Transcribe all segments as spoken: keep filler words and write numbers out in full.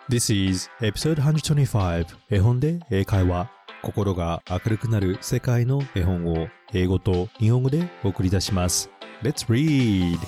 This is episode one twenty-five 絵本で英会話。心が明るくなる世界の絵本を英語と日本語でお送り出します。Let's read!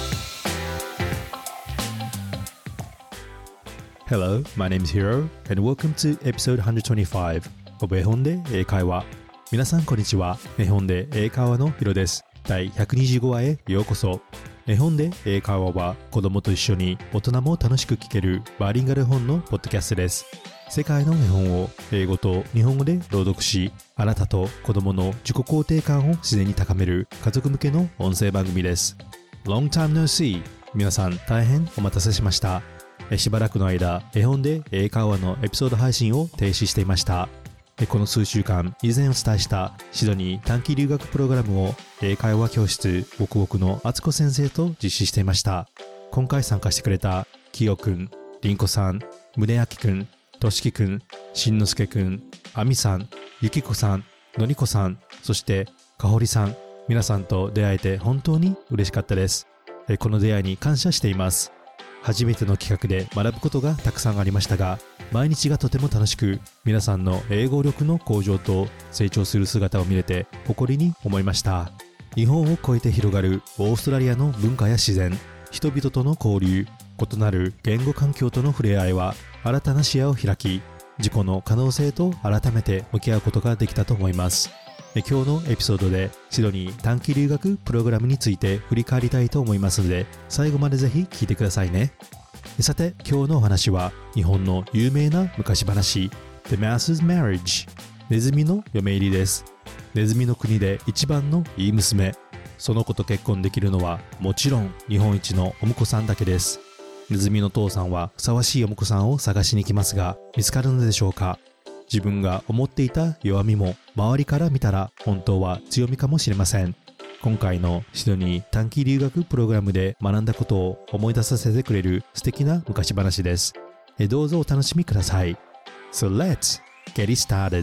Hello, my name is Hiro and welcome to episode one twenty-five of 絵本で英会話。皆さんこんにちは。絵本で英会話のヒロです。だいひゃくにじゅうごわへようこそ。絵本で英会話は子供と一緒に大人も楽しく聞けるバイリンガル本のポッドキャストです。世界の絵本を英語と日本語で朗読し、あなたと子供の自己肯定感を自然に高める家族向けの音声番組です。Long time no see。皆さん大変お待たせしました。しばらくの間、絵本で英会話のエピソード配信を停止していました。この数週間、以前お伝えしたシドニー短期留学プログラムを英会話教室ボクボクのあつこ先生と実施していました。今回参加してくれたきよくん、りんこさん、むねあきくん、としきくん、しんのすけくん、あみさん、ゆきこさん、のりこさん、そしてかほりさん、皆さんと出会えて本当に嬉しかったです。この出会いに感謝しています。初めての企画で学ぶことがたくさんありましたが、毎日がとても楽しく、皆さんの英語力の向上と成長する姿を見れて誇りに思いました。日本を超えて広がるオーストラリアの文化や自然、人々との交流、異なる言語環境との触れ合いは新たな視野を開き、自己の可能性と改めて向き合うことができたと思います。今日のエピソードでシドニー短期留学プログラムについて振り返りたいと思いますので、最後までぜひ聞いてくださいね。さて、今日のお話は日本の有名な昔話 The Mouse's Marriage ネズミの嫁入りです。ネズミの国で一番のいい娘、その子と結婚できるのはもちろん日本一のお婿さんだけです。ネズミの父さんはふさわしいお婿さんを探しに来ますが、見つかるのでしょうか。自分が思っていた弱みも周りから見たら本当は強みかもしれません。今回のシドニー短期留学プログラムで学んだことを思い出させてくれる素敵な昔話です。どうぞお楽しみください。So let's get it started.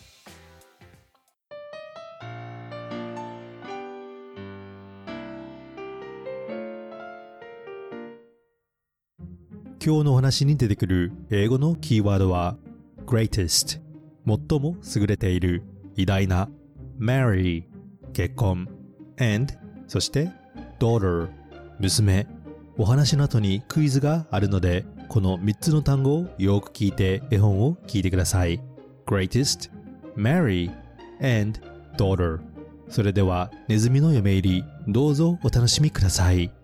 今日のお話に出てくる英語のキーワードはGreatest 最も優れている、偉大な、Marry 結婚、and そして Daughter 娘。お話の後にクイズがあるので、このみっつの単語をよく聞いて絵本を聞いてください。Greatest, Marry, and Daughter。それではネズミの嫁入り、どうぞお楽しみください。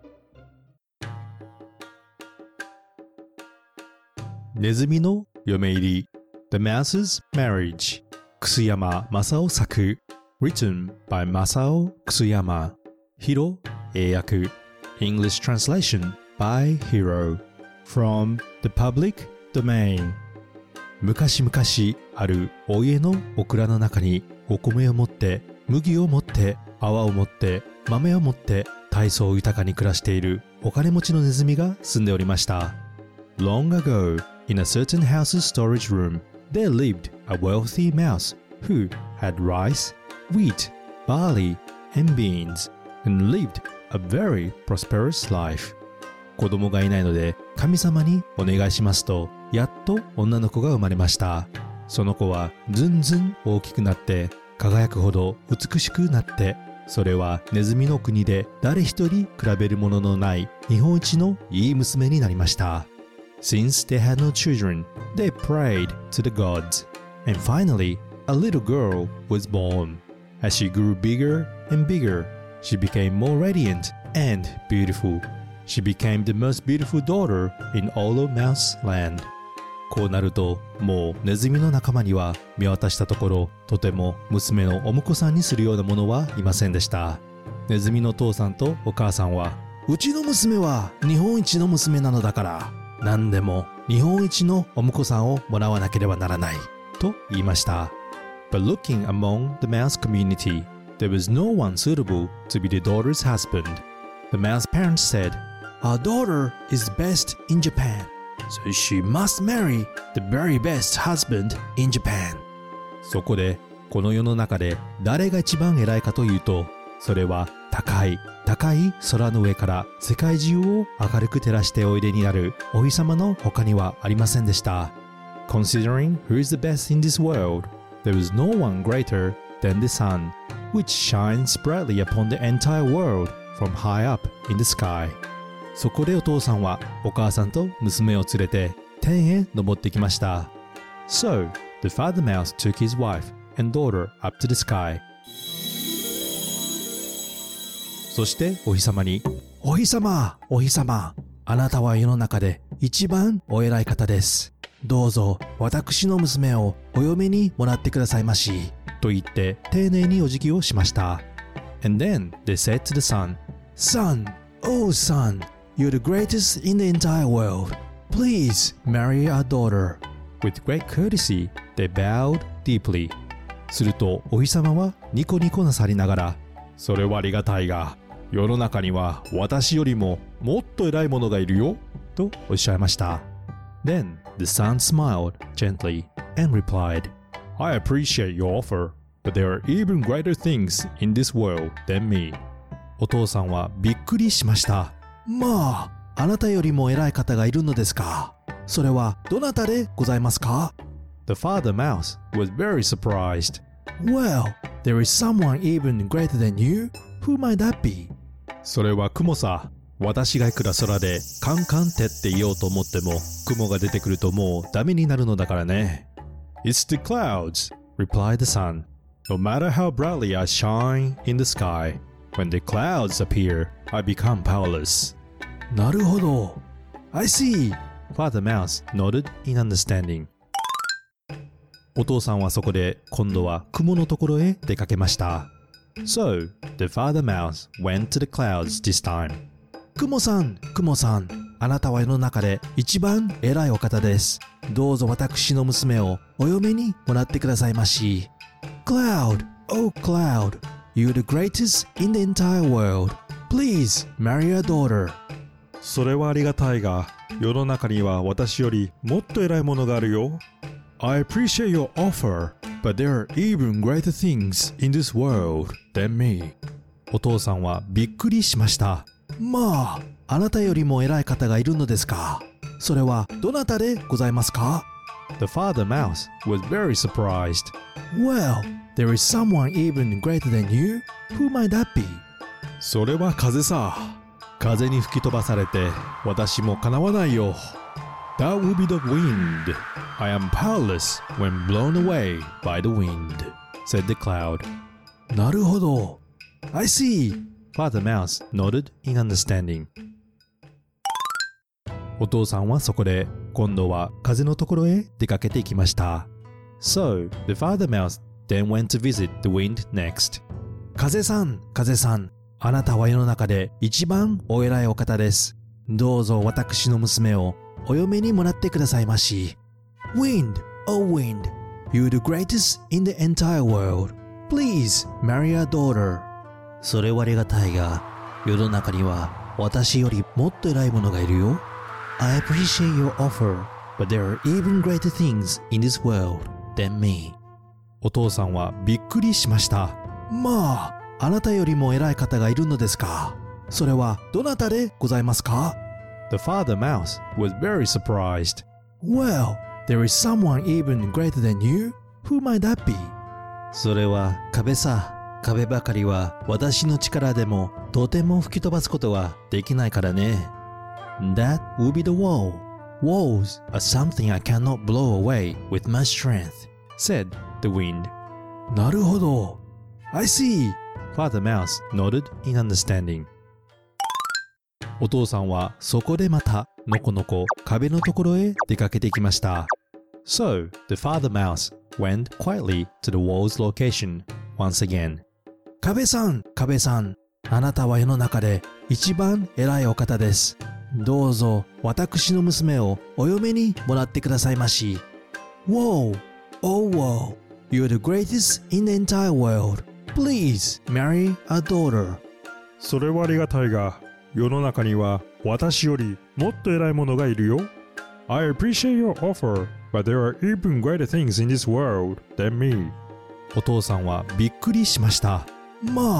ネズミの嫁入りThe Mouse's Marriage 楠山正夫作 Written by Masao Kusuyama ヒロ英訳 English Translation by Hiro From the Public Domain 昔々あるお家のオクラの中にお米を持って麦を持って泡を持って豆を持って大層豊かに暮らしているお金持ちのネズミが住んでおりました。Long ago, in a certain house's storage room,There lived a wealthy mouse who had rice, wheat, barley, and beans, and lived a very prosperous life. 子供がいないので神様にお願いしますと、やっと女の子が生まれました。その子はずんずん大きくなって輝くほど美しくなって、それはネズミの国で誰一人比べるもののない日本一のいい娘になりました。Since they had no children, they prayed to the gods. And finally, a little girl was born. As she grew bigger and bigger, she became more radiant and beautiful. She became the most beautiful daughter in all of Mouse Land. こうなると、もうネズミの仲間には見渡したところ、とても娘のお婿さんにするようなものはいませんでした。ネズミの父さんとお母さんは、うちの娘は日本一の娘なのだから、何でも日本一のお婿さんをもらわなければならないと言いました。But looking among the mouse community, there was no one suitable to be the daughter's husband. The mouse parents said, Our daughter is best in Japan, so she must marry the very best husband in Japan. そこでこの世の中で誰が一番偉いかというと、それは高い高い空の上から世界中を明るく照らしておいでになるお日様の他にはありませんでした。Considering who is the best in this world, there is no one greater than the sun, which shines brightly upon the entire world from high up in the sky. そこでお父さんはお母さんと娘を連れて天へ登ってきました。So, the father mouse took his wife and daughter up to the sky. そしてお日様に、お日様、お日様、あなたは世の中で一番お偉い方です。どうぞ私の娘をお嫁にもらってくださいまし。と言って丁寧にお辞儀をしました。And then they said to the sun, Son, oh son, you're the greatest in the entire world. Please marry our daughter. With great courtesy, they bowed deeply. するとお日様はニコニコなさりながら、それはありがたいが、世の中には私よりももっと偉いものがいるよ、とおっしゃいました。Then the sun smiled gently and replied, I appreciate your offer, but there are even greater things in this world than me. お父さんはびっくりしました。まあ、あなたよりも偉い方がいるのですか。それはどなたでございますか？ The father mouse was very surprised. Well, there is someone even greater than you? Who might that be? それは雲さ。私がいくら空でカンカンってって言おうと思っても雲が出てくるともうダメになるのだからね。It's the clouds, replied the sun. No matter how brightly I shine in the sky, when the clouds appear, I become powerless. なるほど。I see. Father Mouse nodded in understanding. お父さんはそこで今度は雲のところへ出かけました。So, the father mouse went to the clouds this time. 雲さん、雲さん、あなたは世の中で一番偉いお方です。どうぞ私の娘をお嫁にもらってくださいまし。Cloud, oh cloud, you're the greatest in the entire world. Please marry our daughter. それはありがたいが、世の中には私よりもっと偉いものがあるよ。I appreciate your offer, but there are even greater things in this world than me. お父さんはびっくりしました。まあ、あなたよりも偉い方がいるのですか。それはどなたでございますか？ The father mouse was very surprised. Well, there is someone even greater than you? Who might that be? それは風さ。風に吹き飛ばされて私もかなわないよ。That will be the wind. I am powerless when blown away by the wind, said the cloud. なるほど。I see. Father Mouse nodded in understanding. お父さんはそこで今度は風のところへ出かけていきました。So, the father mouse then went to visit the wind next. 風さん、風さん、あなたは世の中で一番お偉いお方です。どうぞ私の娘をお嫁にもらってくださいまし。Wind, oh wind, you're the greatest in the entire world. Please marry our daughter. それはありがたいが、世の中には私よりもっと偉いものがいるよ。I appreciate your offer, but there are even greater things in this world than me. お父さんはびっくりしました。まあ、あなたよりも偉い方がいるのですか。それはどなたでございますか？ The father mouse was very surprised. Well, there is someone even greater than you? Who might that be? それは壁さ。壁ばかりは私の力でもとても吹き飛ばすことはできないからね。That will be the wall. Walls are something I cannot blow away with my strength, said the wind. なるほど。I see. Father Mouse nodded in understanding. お父さんはそこでまたのこのこ壁のところへ出かけていきました。So, the father mouse went quietly to the wall's location once again. 壁さん、壁さん、あなたは世の中で一番偉いお方です。どうぞ私の娘をお嫁にもらってくださいまし。Whoa, oh whoa, you're the greatest in the entire world. Please marry our daughter. それはありがたいが、世の中には私よりもっと偉いものがいるよ。I appreciate your offer, but there are even greater things in this world than me. お父さんはびっくりしました。まあ、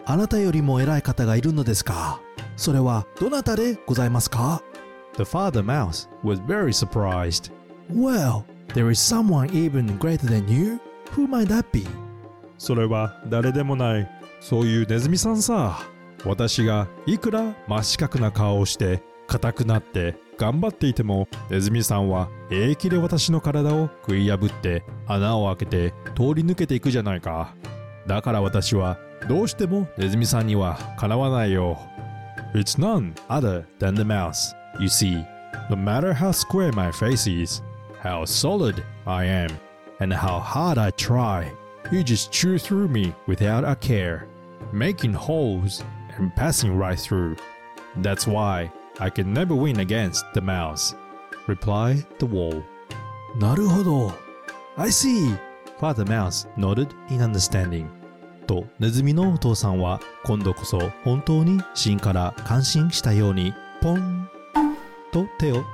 あなたよりも偉い方がいるのですか？それはどなたでございますか？ The father mouse was very surprised. Well, there is someone even greater than you? Who might that be? それは誰でもない、そういうネズミさんさ。私がいくら真四角な顔をして硬くなって頑張っていても、ネズミさんは平気で私の体を食い破って穴を開けて通り抜けていくじゃないか。だから私はどうしてもネズミさんにはかなわないよ。It's none other than the mouse. You see, no matter how square my face is, how solid I am, and how hard I try, you just chew through me without a care, making holes and passing right through. That's why I can never win against the mouse, replied the wall. なるほど。I see. Father Mouse nodded in understanding. と、ネズミのお父さんは今度こそ本当に芯から感心したようにポンと手を打って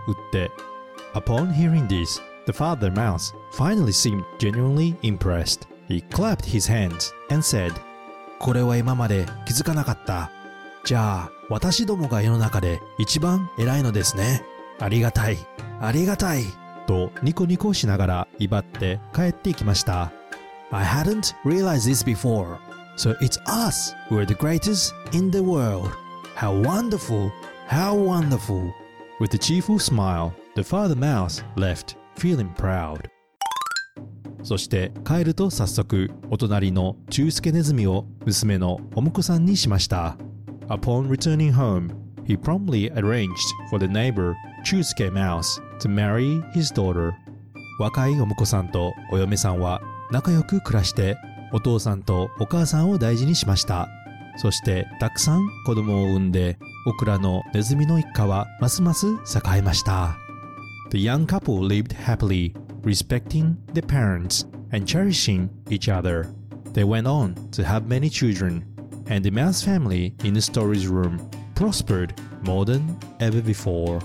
。Upon hearing this, the father mouse finally seemed genuinely impressed. He clapped his hands and said, これは今まで気づかなかった。じゃあ私どもが世の中で一番偉いのですね。ありがたい、ありがたい。とニコニコしながら威張って帰っていきました。I hadn't realized this before. So it's us who are the greatest in the world. How wonderful, how wonderful. With a cheerful smile, the father mouse left, feeling proud. そして帰ると早速お隣のチュウスケネズミを娘のお婿さんにしました。Upon returning home, he promptly arranged for the neighbor Chusuke Mouse to marry his daughter. 若いお婿さんとお嫁さんは仲良く暮らしてお父さんとお母さんを大事にしました。そしてたくさん子供を産んでオクラのネズミの一家はますます栄えました。The young couple lived happily, respecting their parents and cherishing each other. They went on to have many children, and the mouse family in the story's room prospered more than ever before.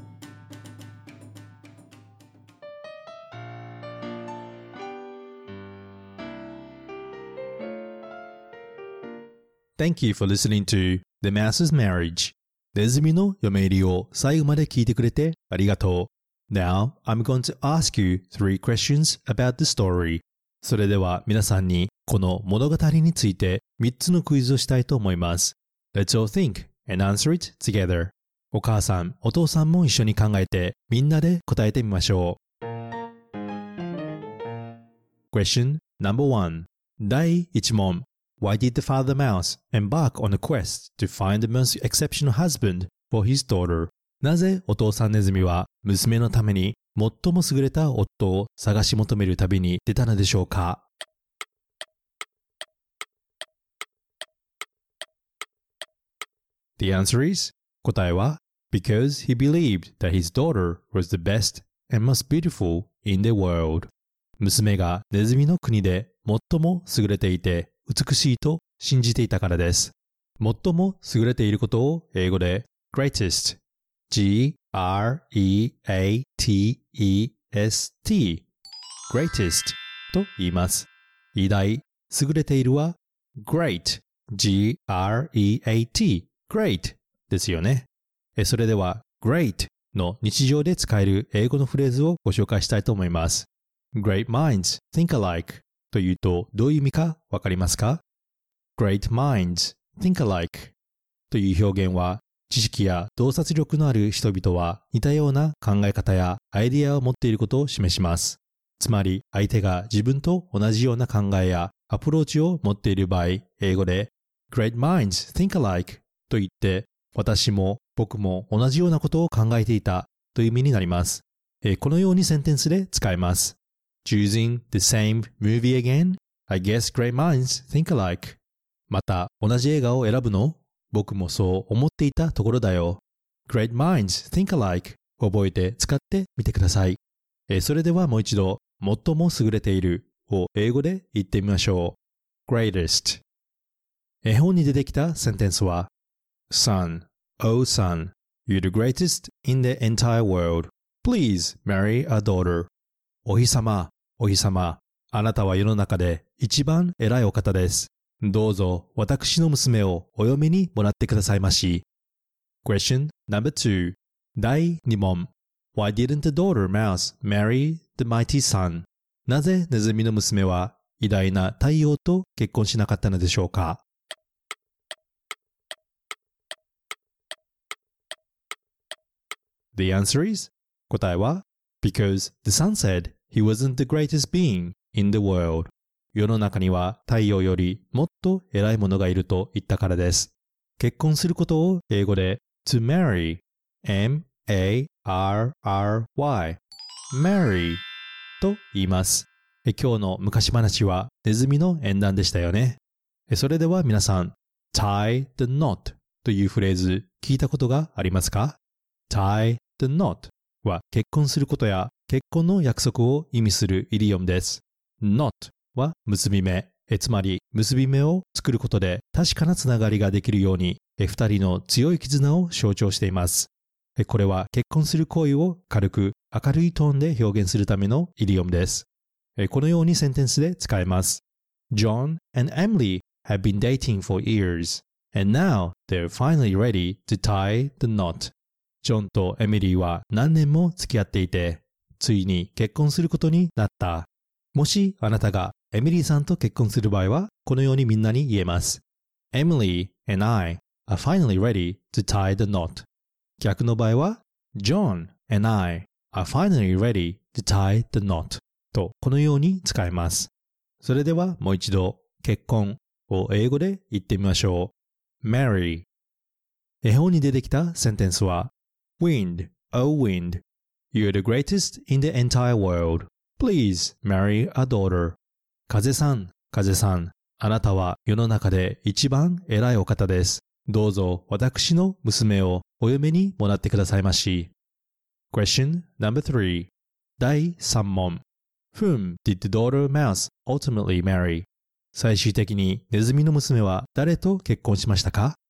Thank you for listening to The Mouse's Marriage. ネズミの嫁入りを最後まで聞いてくれてありがとう。Now, I'm going to ask you three questions about the story. それでは皆さんにこの物語についてみっつのクイズをしたいと思います。Let's all think and answer it together. お母さん、お父さんも一緒に考えてみんなで答えてみましょう。Question number one. 第一問。Why did the father mouse embark on a quest to find the most exceptional husband for his daughter? なぜお父さんネズミは娘のために最も優れた夫を探し求める旅に出たのでしょうか？ The answer is 答えは Because he believed that his daughter was the best and most beautiful in the world. 娘がネズミの国で最も優れていて美しいと信じていたからです。最も優れていることを英語で greatest, G R E A T E S T, greatest と言います。偉大、優れているは great, G R E A T, great ですよね。それでは great の日常で使える英語のフレーズをご紹介したいと思います。Great minds think alikeというとどういう意味かわかりますか？ Great minds think alike という表現は知識や洞察力のある人々は似たような考え方やアイディアを持っていることを示します。つまり相手が自分と同じような考えやアプローチを持っている場合、英語で Great minds think alike と言って私も僕も同じようなことを考えていたという意味になります。このようにセンテンスで使えます。Choosing the same movie again? I guess great minds think alike. また同じ映画を選ぶの？僕もそう思っていたところだよ。Great minds think alike. 覚えて使ってみてください。えそれではもう一度、最も優れているを英語で言ってみましょう。Greatest. 絵本に出てきたセンテンスは Son, oh son, you're the greatest in the entire world. Please marry our daughter. お日様、お日様、あなたは世の中で一番偉いお方です。 どうぞ私の娘をお嫁にもらってくださいまし。Question number two だいに問 Why didn't the daughter mouse marry the mighty sun? なぜネズミの娘は偉大な太陽と結婚しなかったのでしょうか。The answer is 答えは Because the sun said he wasn't the greatest being in the world. 世の中には太陽よりもっと偉いものがいると言ったからです。結婚することを英語で to marry, M A R R Y, marry と言います。今日の昔話はネズミの縁談でしたよね。それでは皆さん、tie the knot というフレーズ聞いたことがありますか？ tie the knot は結婚することや結婚の約束を意味するイディオムです。knot は結び目、つまり結び目を作ることで確かなつながりができるように二人の強い絆を象徴しています。これは結婚する行為を軽く明るいトーンで表現するためのイディオムです。このようにセンテンスで使えます。John and Emily have been dating for years, and now they're finally ready to tie the knot. ジョンとエミリーは何年も付き合っていて、ついに結婚することになった。もしあなたがエミリーさんと結婚する場合は、このようにみんなに言えます。Emily and I are finally ready to tie the knot. 逆の場合は、John and I are finally ready to tie the knot. とこのように使えます。それではもう一度、結婚を英語で言ってみましょう。marry。絵本に出てきたセンテンスは、Wind, oh wind, you're the greatest in the entire world. Please marry a daughter. 風さん、風さん、あなたは世の中で一番偉いお方です。どうぞ私の娘をお嫁にもらってくださいまし。Question number three だいさん問 Whom did the daughter mouse ultimately marry? 最終的にネズミの娘は誰と結婚しましたか？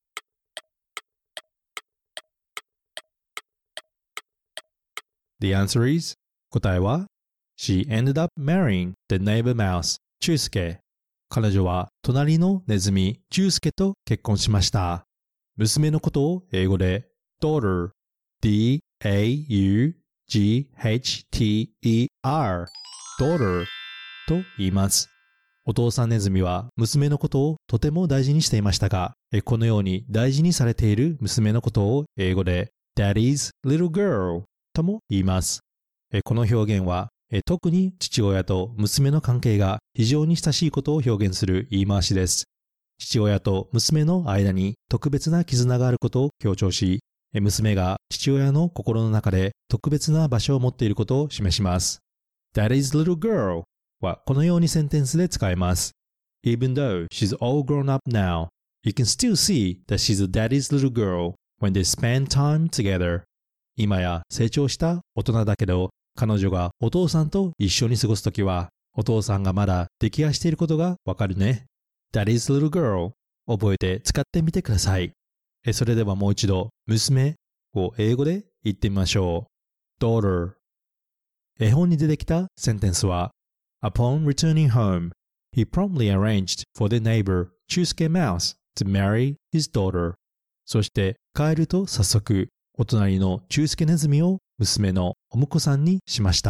The answer is 答えは She ended up marrying the neighbor mouse, チュウスケ。彼女は隣のネズミ、チュウスケと結婚しました。娘のことを英語で daughter, D A U G H T E R, daughter と言います。お父さんネズミは娘のことをとても大事にしていましたが、このように大事にされている娘のことを英語で Daddy's little girl とも言います。この表現は特に父親と娘の関係が非常に親しいことを表現する言い回しです。父親と娘の間に特別な絆があることを強調し、娘が父親の心の中で特別な場所を持っていることを示します。Daddy's little girl はこのようにセンテンスで使えます。Even though she's all grown up now, you can still see that she's a daddy's little girl when they spend time together. 今や成長した大人だけど、彼女がお父さんと一緒に過ごすときは、お父さんがまだ溺愛していることがわかるね。Daddy's little girl 覚えて使ってみてください。それではもう一度、娘を英語で言ってみましょう。daughter。絵本に出てきたセンテンスは、Upon returning home, he promptly arranged for the neighbor, Chusuke Mouse, to marry his daughter. そして帰ると早速、お隣のチュウスケネズミを娘のお婿さんにしました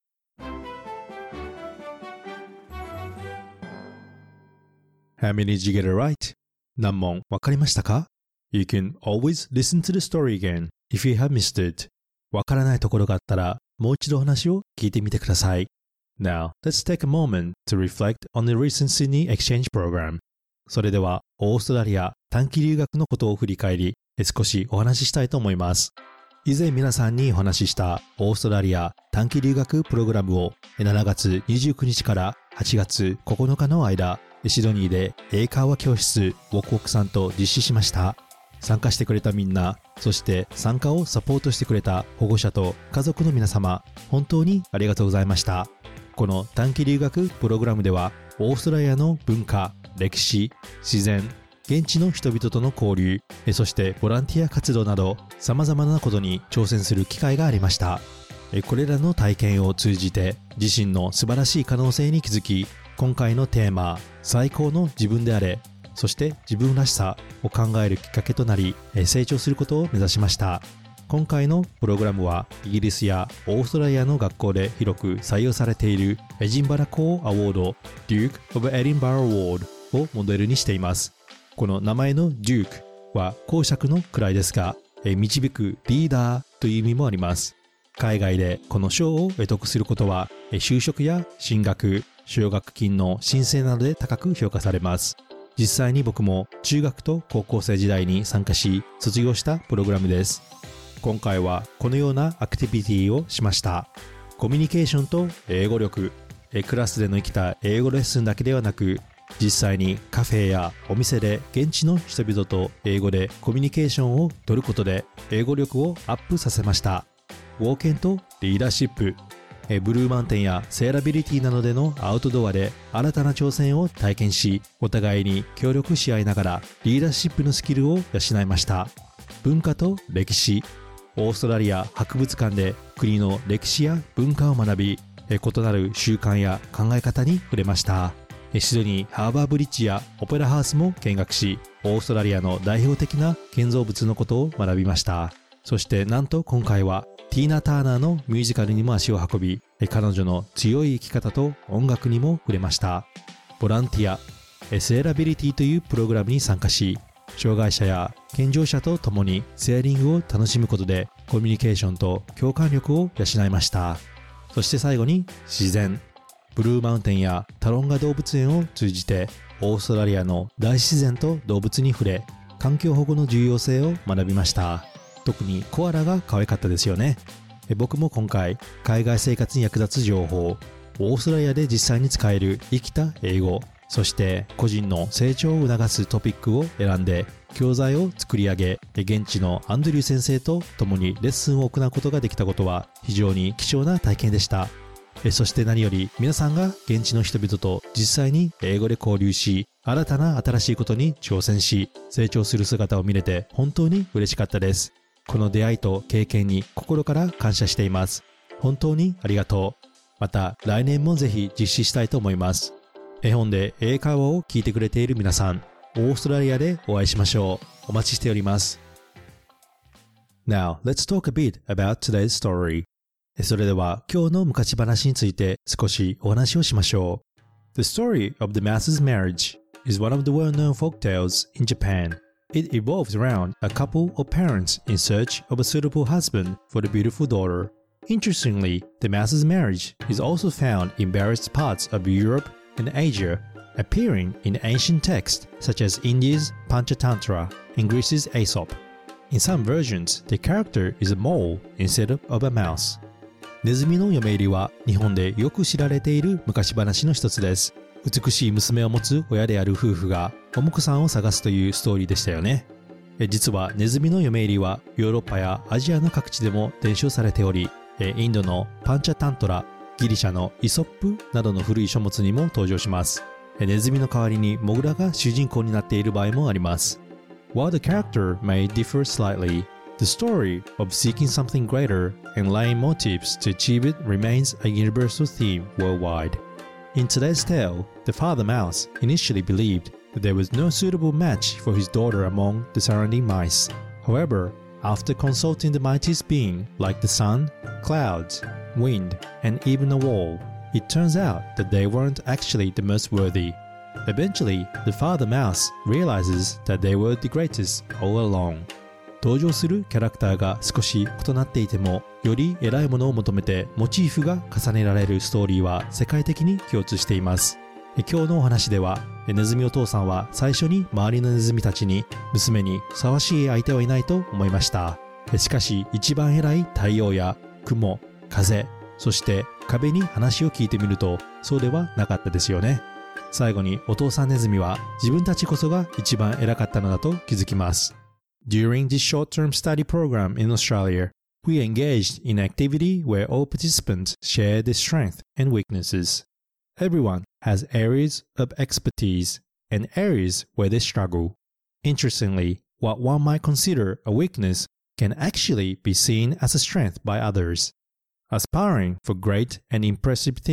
。How many did you get it right? 何問わかりましたか？ You can always listen to the story again if you have missed it. わからないところがあったらもう一度話を聞いてみてください。Now, let's take a moment to reflect on the recent Sydney exchange program. それではオーストラリア短期留学のことを振り返り、少しお話ししたいと思います。以前皆さんにお話ししたオーストラリア短期留学プログラムをしちがつにじゅうくにちからはちがつここのかの間、シドニーで英会話教室ウォクウォクさんと実施しました。参加してくれたみんな、そして参加をサポートしてくれた保護者と家族の皆様、本当にありがとうございました。この短期留学プログラムでは、オーストラリアの文化、歴史、自然、現地の人々との交流、そしてボランティア活動など様々なことに挑戦する機会がありました。これらの体験を通じて自身の素晴らしい可能性に気づき、 今回のテーマ、最高の自分であれ、そして自分らしさを考えるきっかけとなり、成長することを目指しました。今回のプログラムはイギリスやオーストラリアの学校で広く採用されているエジンバラ校アワード Duke of Edinburgh Award をモデルにしています。この名前の Duke は公爵の位ですが、導くリーダーという意味もあります。海外でこの賞を得得することは就職や進学、奨学金の申請などで高く評価されます。実際に僕も中学と高校生時代に参加し卒業したプログラムです。今回はこのようなアクティビティをしました。コミュニケーションと英語力、クラスでの生きた英語レッスンだけではなく、実際にカフェやお店で現地の人々と英語でコミュニケーションを取ることで英語力をアップさせました。冒険とリーダーシップ、ブルーマウンテンやセーラビリティなどでのアウトドアで新たな挑戦を体験し、お互いに協力し合いながらリーダーシップのスキルを養いました。文化と歴史、オーストラリア博物館で国の歴史や文化を学び、異なる習慣や考え方に触れました。シドニーハーバーブリッジやオペラハウスも見学し、オーストラリアの代表的な建造物のことを学びました。そしてなんと今回はティーナ・ターナーのミュージカルにも足を運び、彼女の強い生き方と音楽にも触れました。ボランティア、セーラビリティというプログラムに参加し、障害者や健常者と共にセーリングを楽しむことでコミュニケーションと共感力を養いました。そして最後に自然、ブルーマウンテンやタロンガ動物園を通じてオーストラリアの大自然と動物に触れ、環境保護の重要性を学びました。特にコアラが可愛かったですよね。僕も今回海外生活に役立つ情報、オーストラリアで実際に使える生きた英語、そして個人の成長を促すトピックを選んで教材を作り上げ、現地のアンドリュー先生と共にレッスンを行うことができたことは非常に貴重な体験でした。そして何より皆さんが現地の人々と実際に英語で交流し、新たな新しいことに挑戦し成長する姿を見れて本当に嬉しかったです。この出会いと経験に心から感謝しています。本当にありがとう。また来年もぜひ実施したいと思います。絵本で英会話を聞いてくれている皆さん、オーストラリアでお会いしましょう。お待ちしております。Now, let's talk a bit about today's story. それでは今日の昔話について少しお話をしましょう。The story of the Mouse's marriage is one of the well-known folk tales in Japan.It evolves around a couple of parents in search of a suitable husband for the beautiful daughter. Interestingly, the Mouse's marriage is also found in various parts of Europe and Asia, appearing in ancient texts such as India's Panchatantra and Greece's Aesop. In some versions, the character is a mole instead of a mouse. ネズミの嫁入りは日本でよく知られている昔話の一つです。美しい娘を持つ親である夫婦がお婿さんを探すというストーリーでしたよね。実はネズミの嫁入りはヨーロッパやアジアの各地でも伝承されており、インドのパンチャタントラ、ギリシャのイソップなどの古い書物にも登場します。ネズミの代わりにモグラが主人公になっている場合もあります。While the character may differ slightly, the story of seeking something greater and laying motives to achieve it remains a universal theme worldwide.In today's tale, the father mouse initially believed that there was no suitable match for his daughter among the surrounding mice. However, after consulting the mightiest being like the sun, clouds, wind, and even a wall, it turns out that they weren't actually the most worthy. Eventually, the father mouse realizes that they were the greatest all along.登場するキャラクターが少し異なっていても、より偉いものを求めてモチーフが重ねられるストーリーは世界的に共通しています。今日のお話では、ネズミお父さんは最初に周りのネズミたちに娘にふさわしい相手はいないと思いました。しかし一番偉い太陽や雲、風、そして壁に話を聞いてみるとそうではなかったですよね。最後にお父さんネズミは自分たちこそが一番偉かったのだと気づきます。During this short-term study program in Australia, we engaged in an activity where all participants shared their strengths and weaknesses. Everyone has areas of expertise and areas where they struggle. Interestingly, what one might consider a weakness can actually be seen as a strength by others. Aspiring for great and impressive things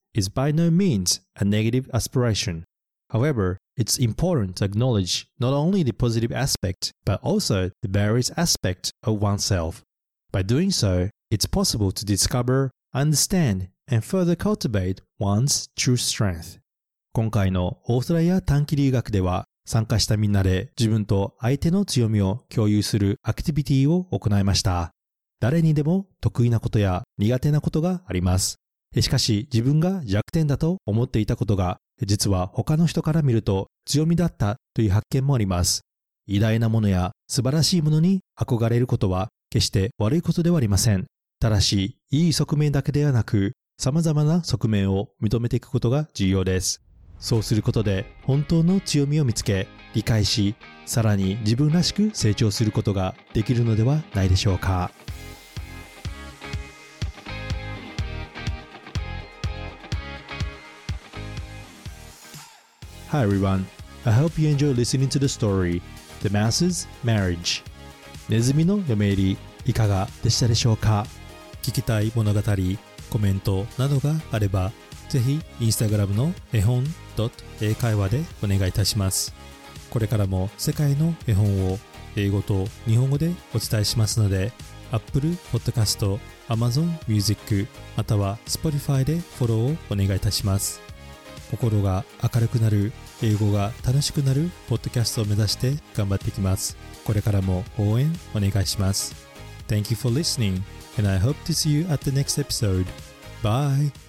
is by no means a negative aspiration. However, it's important to acknowledge not only the positive aspect, but also the various aspects of oneself. By doing so, it's possible to discover, understand, and further cultivate one's true strength. 今回のオーストラリア短期留学では、参加したみんなで自分と相手の強みを共有するアクティビティを行いました。誰にでも得意なことや苦手なことがあります。しかし自分が弱点だと思っていたことが、実は他の人から見ると強みだったという発見もあります。偉大なものや素晴らしいものに憧れることは決して悪いことではありません。ただし、いい側面だけではなく、様々な側面を認めていくことが重要です。そうすることで本当の強みを見つけ、理解し、さらに自分らしく成長することができるのではないでしょうか。Hi everyone, I hope you enjoy listening to the story, The Mouse's Marriage. ネズミの嫁入り、いかがでしたでしょうか。聞きたい物語、コメントなどがあれば、ぜひインスタグラムの絵本英会話でお願いいたします。これからも世界の絵本を英語と日本語でお伝えしますので、Apple Podcast、Amazon Music または Spotify でフォローをお願いいたします。心が明るくなる、英語が楽しくなるポッドキャストを目指して頑張っていきます。これからも応援お願いします。Thank you for listening, and I hope to see you at the next episode. Bye!